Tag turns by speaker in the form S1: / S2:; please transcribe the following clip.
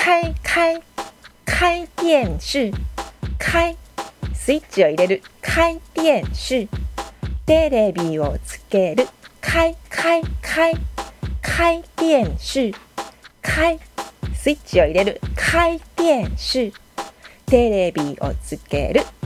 S1: 開電視スイッチを入れる開電視テレビをつける開電視スイッチを入れる開電視テレビをつける